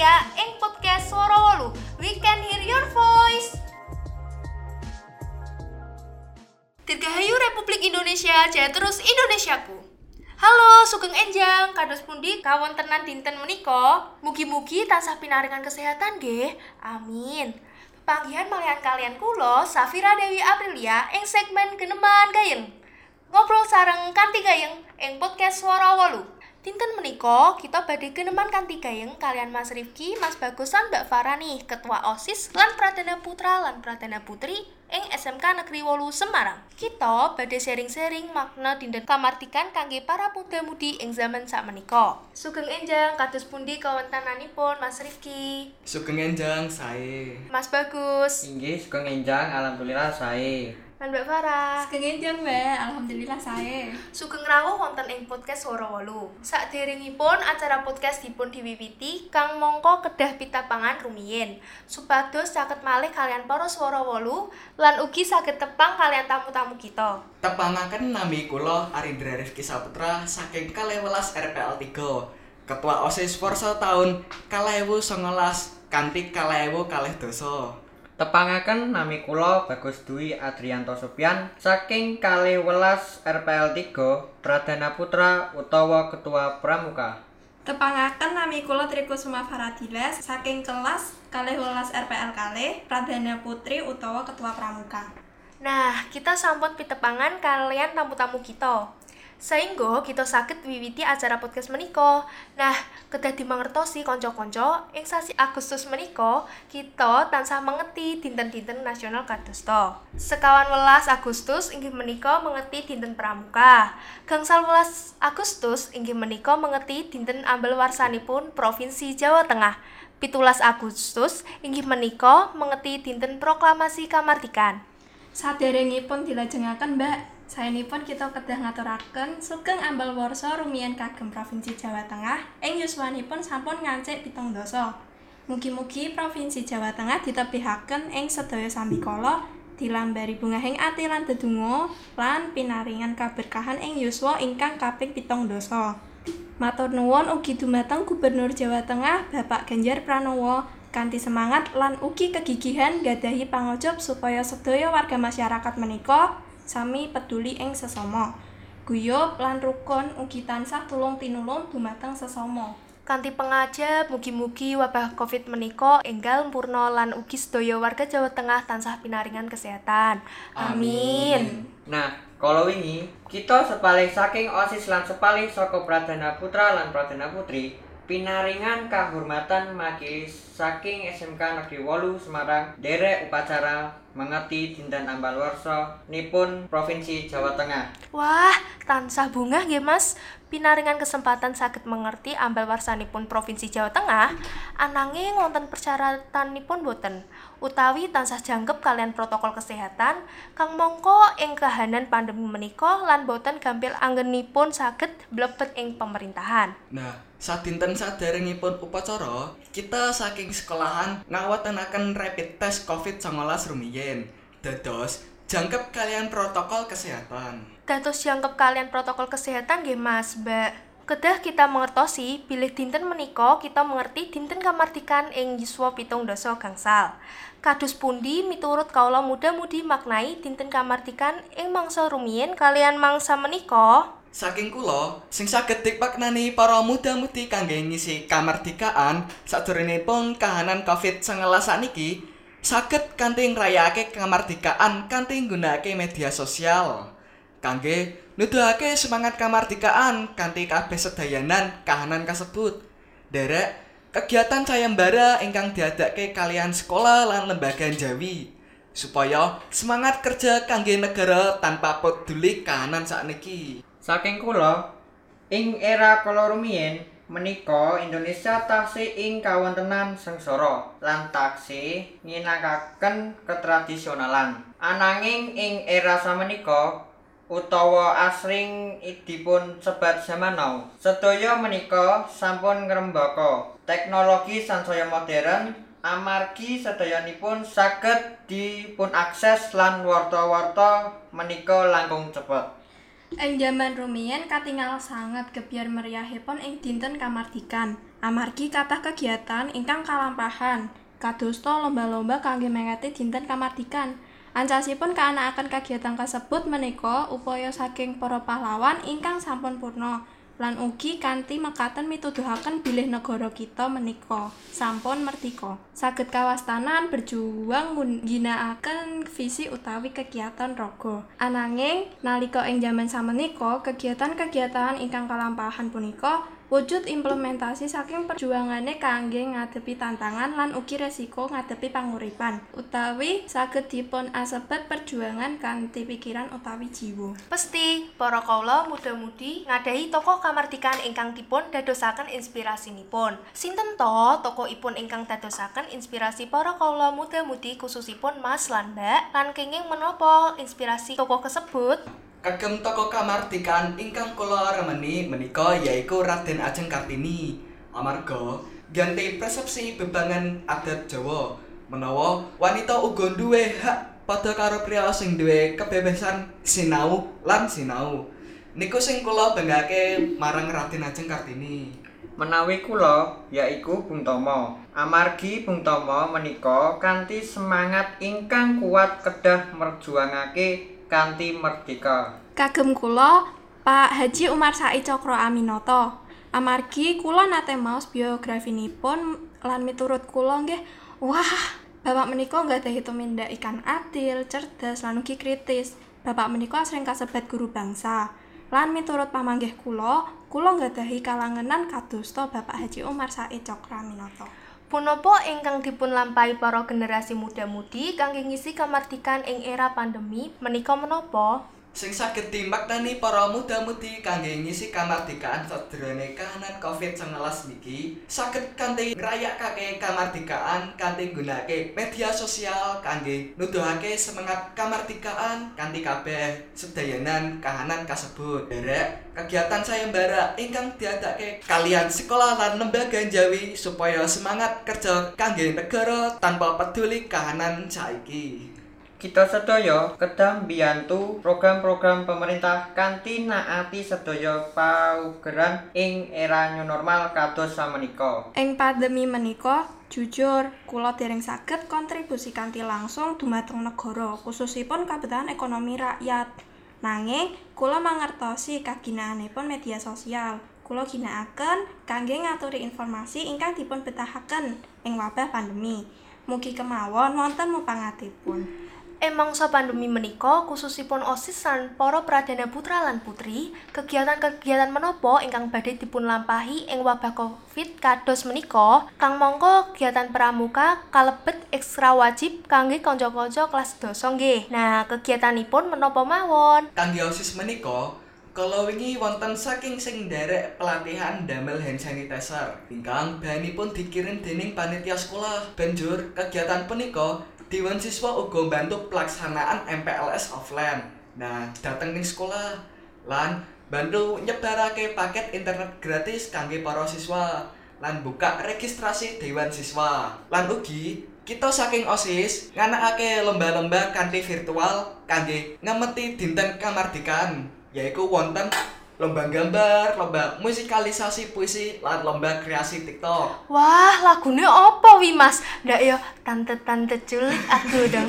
Aprilia ing podcast Swara Wolu. We can hear your voice. Dirgahayu Republik Indonesia, jaya terus Indonesiaku. Halo, sugeng enjang, kados pundi kawontenan dinten menika? Mugi-mugi tansah pinaringan kesehatan nggih. Amin. Panggihan malihan kalian kula, Safira Dewi Aprilia ing segmen Geneman Gayeng. Ngobrol sareng kanthi gayeng ing podcast Swara Wolu. Dinten menika kita badhe geneman kanthi gayeng kalian Mas Rifki, Mas Bagus lan Mbak Farah nih, Ketua OSIS lan Pradana Putra lan Pradana Putri ing SMK Negeri 8 Semarang. Kita badhe sharing-sharing makna dinten kamardikan kangge para muda-mudi ing zaman sakmenika. Sugeng enjang kados pundi kawontenanipun Mas Rifki? Sugeng enjang sae. Mas Bagus. Inggih sugeng enjang, alhamdulillah sae. Lan Mbak Farah. Sugeng enjang, Mbak. Alhamdulillah sae. Sugeng rawuh wonten ing podcast Swara Wolu. Saderengipun acara podcast dipun diwiwiti kang mangka kedah pitapangan rumiyin supados caket malih kalian para Swara Wolu lan ugi saged tepang kalian tamu-tamu kita. Tepangaken nami kula Arindra Rifki Saputra saking 12 RPL 3. Ketua OSIS Forsa tahun 2019 kanthi 2012. Tepangaken nami kula Bagus Dwi Adrianto Sopian saking 12 RPL 3 Pradana Putra utawa Ketua Pramuka. Tepangaken nami kula Trikusuma Faradilas saking kelas 12 RPL kalih Pradana Putri utawa Ketua Pramuka. Nah, kita sampun pitepangan kalian tamu-tamu kita. Saengga kita saged wiwiti acara podcast menika. Nah, kedah dimangertosi kanca-kanca, ing sasi Agustus menika kita tansah mengeti dinten-dinten nasional kadosta. Sekawan welas Agustus inggih menika mengeti dinten Pramuka. Gangsal welas Agustus inggih menika mengeti dinten ambel warsanipun Provinsi Jawa Tengah. 17 Agustus inggih menika mengeti dinten proklamasi kamardikan. Saderengipun dilajengaken, Mbak, saenipun kita kedah ngaturaken sugeng ambal warsa rumiyin kagem Provinsi Jawa Tengah ing yuswanipun sampun ngancik 7 dasa. Mugi-mugi Provinsi Jawa Tengah ditepihaken ing sedaya sambikala dilambari bungahing ati lan dedonga lan pinaringan kaberkahan ing yuswa ingkang kaping 7 dasa. Matur nuwun ugi dumateng Gubernur Jawa Tengah Bapak Ganjar Pranowo kanthi semangat lan ugi kegigihan gadahi pangojob supaya sedaya warga masyarakat menika sami peduli ing sesama. Guyub lan rukun ugi tansah tulung-tinulung dumateng sesama. Kanthi pengajab mugi-mugi wabah Covid menika enggal mpurna lan ugi sedaya warga Jawa Tengah tansah pinaringan kesehatan. Amin. Nah, kala wingi kita sepalih saking OSIS lan sepalih saka Pradana Putra lan Pradana Putri pinaringan kahormatan majelis saking SMK Negeri 8 Semarang derek upacara mengeti dinten ambal warsa nipun Provinsi Jawa Tengah. Wah, tansah bungah nggih Mas. Pinaringan kesempatan saged mengerti ambal warsanipun Provinsi Jawa Tengah, ananging wonten persyaratanipun boten, utawi tansah jangkep kalian protokol kesehatan kang mangka ing kahanan pandemi menika lan boten gampil anggenipun saged mlebet ing pemerintahan. Nah, sadinten saderengipun upacara, kita saking sekolahan ngawontenaken rapid test COVID-19 rumiyin. Dados jangkep kalian protokol kesehatan. Dados jangkep kalian protokol kesehatan nggih Mas, Mbak. Kedah kita mengertosi bilih dinten menika kita mengerti dinten kamardikan ing yuswa 7 dasa gangsal. Kados pundi miturut kaula muda-mudi maknai dinten kamardikan ing mangsa rumiyin kalian mangsa menika? Saking kula sing saged dipaknani para muda-mudi kangge ngisi kamardikaan sadurungipun kahanan COVID-19 saniki saged kanthi ngrayakake kamardikaan kanthi nggunakake media sosial kangge nuduhake semangat kamardikaan kanthi kabeh sedayanan kahanan kasebut. Derek kegiatan sayembara ingkang diadake kalian sekolah lan lembaga njawi supaya semangat kerja kangge negara tanpa peduli kahanan sakniki. Saking kula ing era kala rumiyin menika Indonesia taksih ing kawontenan sengsara lan taksih nginakaken ketradisionalan. Ananging ing era samenika utawa asring dipun sebat zaman now, sedaya menika sampun ngrembaka teknologi sansaya modern amargi sedayanipun saged dipun akses lan warta-warta menika langkung cepet. Ing jaman rumiyin katingal sanget gebyar meriahipun ing dinten kamardikan. Amargi kathah kegiatan ingkang kalampahan, kadosta lomba-lomba kangge mengeti dinten kamardikan. Ancasipun kaanakaken kegiatan kasebut menika upaya saking para pahlawan ingkang sampun purna lan ugi kanthi mekaten mituduhaken bilih negara kita menika sampun merdika. Saged kawastanan berjuang ngginakaken visi utawi kegiatan raga. Ananging nalika ing jaman samenika kegiatan-kegiatan ingkang kalampahan punika wujud implementasi saking perjuangane kangge ngadepi tantangan lan ugi resiko ngadepi panguripan utawi saged dipun asebat perjuangan kanthi pikiran utawi jiwa. Pesti para kawula muda-mudi ngadahi tokoh kamardikan ingkang dipun dadosaken inspirasinipun. Sinten to tokohipun ingkang dadosaken inspirasi para kawula muda-mudi khususipun Mas lan Mbak? Lan kenging menapa inspirasi tokoh kasebut? Kagem tokoh kamardikan ingkang kula remeni menika yaiku Raden Ajeng Kartini. Amarga ganti persepsi bebangan adat Jawa menawa wanita uga duwe hak padha karo priya sing duwe kebebasan sinau lan sinau. Niku sing kula benggake marang Raden Ajeng Kartini. Menawi kula yaiku Bung Tomo. Amargi Bung Tomo menika kanthi semangat ingkang kuat kedah merjuangake kanthi merdeka. Kagem kula Pak Haji Umar Said Cokro Aminoto. Amargi kula nate maos biografinipun lan miturut kula nggih, wah, bapak menika nggadhahi tumindak ikan adil, cerdas lan ugi kritis. Bapak menika asring kasebat guru bangsa. Lan miturut pamanggih kula nggadhahi kalangenan kadosta Bapak Haji Umar Said Cokro Aminoto. Punapa ingkang dipun lampahi para generasi muda-mudi kangge ngisi kamardikan ing era pandemi menika menapa? Sing saged dimaknani para muda-mudi kangge ngisi kamardikaan sadurunge kahanan Covid-19 niki saged kanthi ngrayakake kamardikaan kanthi nggunakake media sosial kangge nuduhake semangat kamardikaan kanthi kabeh sedayanan kahanan kasebut. Derek kegiatan sayembara ingkang diadake kalian sekolah lan lembaga Jawi supaya semangat kerja kangge negara tanpa peduli kahanan saiki. Kita sedaya kedah mbiyantu program-program pemerintah kanthi naati sedaya paugeran ing era new normal kados samenika. Ing pandemi menika, jujur kula dereng saged kontribusi kanthi langsung dumateng negara, khususipun kabetahan ekonomi rakyat. Nanging kula mangertosi kaginaanipun media sosial. Kula ginakaken kangge ngaturi informasi ingkang dipun betahaken ing wabah pandemi. Mugi kemawon wonten mupangatipun. Mangsa pandemi menika khususipun OSIS lan para pradana putra lan putri, kegiatan-kegiatan menapa ingkang badhe dipun lampahi ing wabah Covid kados menika, kang mangka kegiatan pramuka kalebet ekstra wajib kangge kanca-kanca kelas 12 nggih. Nah, kegiatanipun menapa mawon? Kangge OSIS menika kala wingi wonten saking sing nderek pelatihan damel hand sanitizer ingkang bahanipun dikirim dening panitia sekolah. Banjur kegiatan punika Dewan siswa uga bantu pelaksanaan MPLS offline. Nah, dateng ning sekolah lan bantu nyebarake paket internet gratis kangge para siswa lan buka registrasi Dewan Siswa. Lan ugi kita saking OSIS nganakake lomba-lomba kanthi virtual kangge ngemeti dinten kamardikan, yaiku wonten lomba gambar, lomba musikalisasi puisi, lan lomba kreasi TikTok. Wah, lagune apa wi Mas? Ndak ya tante-tante culik aku dong.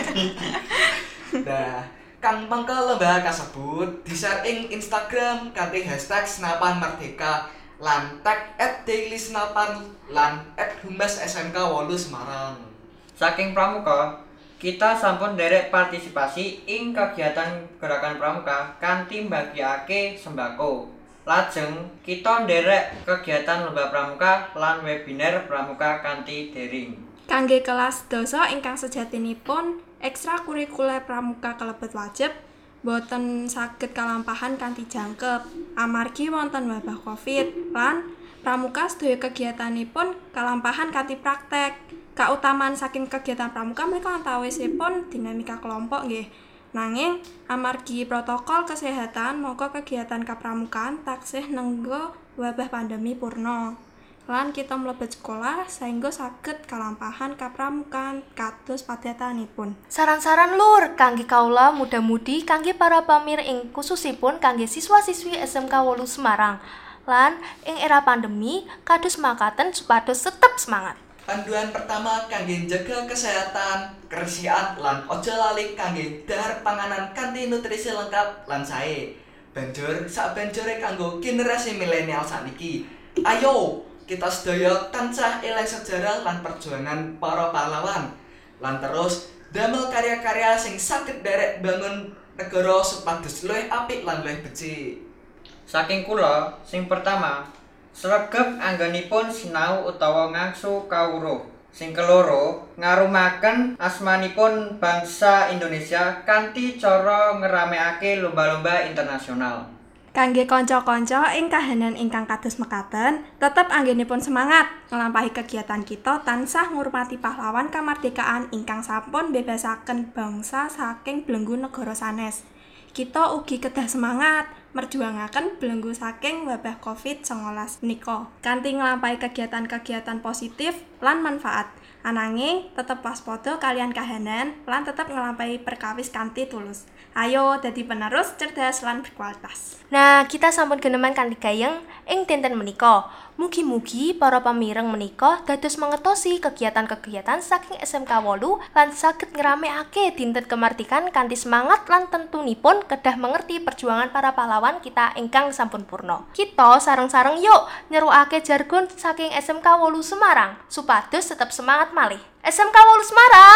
Nah, kang mangka lomba kasebut di-share ing Instagram kanthi hashtag Senapan Merdeka lan tag @dailysenapan lan @humas SMK 8 Semarang. Saking pramuka, kita sampun derek partisipasi ing kegiatan gerakan pramuka kanthi mbagiake sembako. Lajeng kita nderek kegiatan lomba pramuka lan webinar pramuka kanthi daring. Kangge kelas dosa ingkang sejatinipun ekstrakurikuler pramuka kalebet wajib, boten saged kalampahan kanthi jangkep amargi wonten wabah Covid lan pramuka sedaya kegiatanipun kalampahan kanthi praktek. Kautamaan saking kegiatan pramuka menika antawisipun dinamika kelompok nggih. Nanging amargi protokol kesehatan mongko kegiatan kapramukaan taksih nenggo wabah pandemi purna. Lan kita mlebet sekolah saengga saged kalampahan kapramukaan kados padatanipun. Saran-saran lur kangge kaula muda-mudi kangge para pamir ing khususipun kangge siswa-siswi SMK 8 Semarang. Lan ing era pandemi kados makaten supados tetep semangat. Panduan pertama kangge njaga kesehatan, kebersihan lan ojo lali kangge dahar panganan kanthi nutrisi lengkap lan sae. Banjur sabanjure kanggo generasi milenial sakniki. Ayo, kita sedaya tansah eling sejarah lan perjuangan para pahlawan. Lan terus damel karya-karya sing saged derek bangun negara supados luwih apik lan luwih becik. Saking kula, sing pertama, sregep anggenipun sinau utawa ngangsu kawruh. Sing keloro, ngarumaken asmanipun bangsa Indonesia kanthi cara ngeramekake lomba-lomba internasional. Kangge kanca-kanca ing kahanan ingkang kados mekaten, tetep anggenipun semangat nglampahi kegiatan kita tansah ngurmati pahlawan kamardikaan ingkang sampun bebasaken bangsa saking belenggu negara sanes. Kita ugi kedah semangat merjuangaken belenggu saking wabah COVID-19 menika kanthi nglampahi kegiatan-kegiatan positif lan manfaat. Ananging tetep waspada kalian kahanan lan tetep nglampahi perkawis kanthi tulus. Ayo dadi penerus cerdas lan berkualitas. Nah, kita sampun geneman kanthi gayeng ing dinten menika. Mugi-mugi para pamireng menika dados mengetosi kegiatan-kegiatan saking SMK 8 lan saged ngramekake dinten kemerdekaan kanthi semangat lan tentunipun kedah mengerti perjuangan para pahlawan kita ingkang sampun purna. Kita sareng-sareng yuk nyerukake jargon saking SMK 8 Semarang supados tetep semangat malih. SMK 8 Semarang,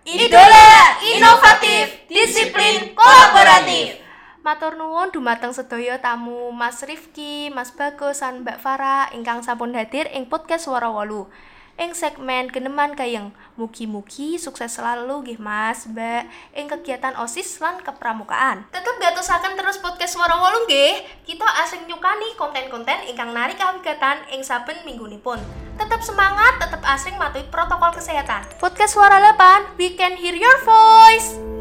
idola inovatif, disiplin kolaboratif. Matur nuwun dumateng sedaya tamu Mas Rifki, Mas Bagus, lan Mbak Farah ingkang sampun hadir ing podcast Swara 8. Ing segmen geneman gayeng, mugi-mugi sukses selalu nggih Mas, Mbak ing kegiatan OSIS lan kepramukaan. Tetep gatosaken terus podcast Swara 8 nggih. Kita asring nyukani konten-konten ingkang narik kawigatan ing saben minggunipun. Tetap semangat, tetap asring matuhi protokol kesehatan. Podcast Suara 8, we can hear your voice.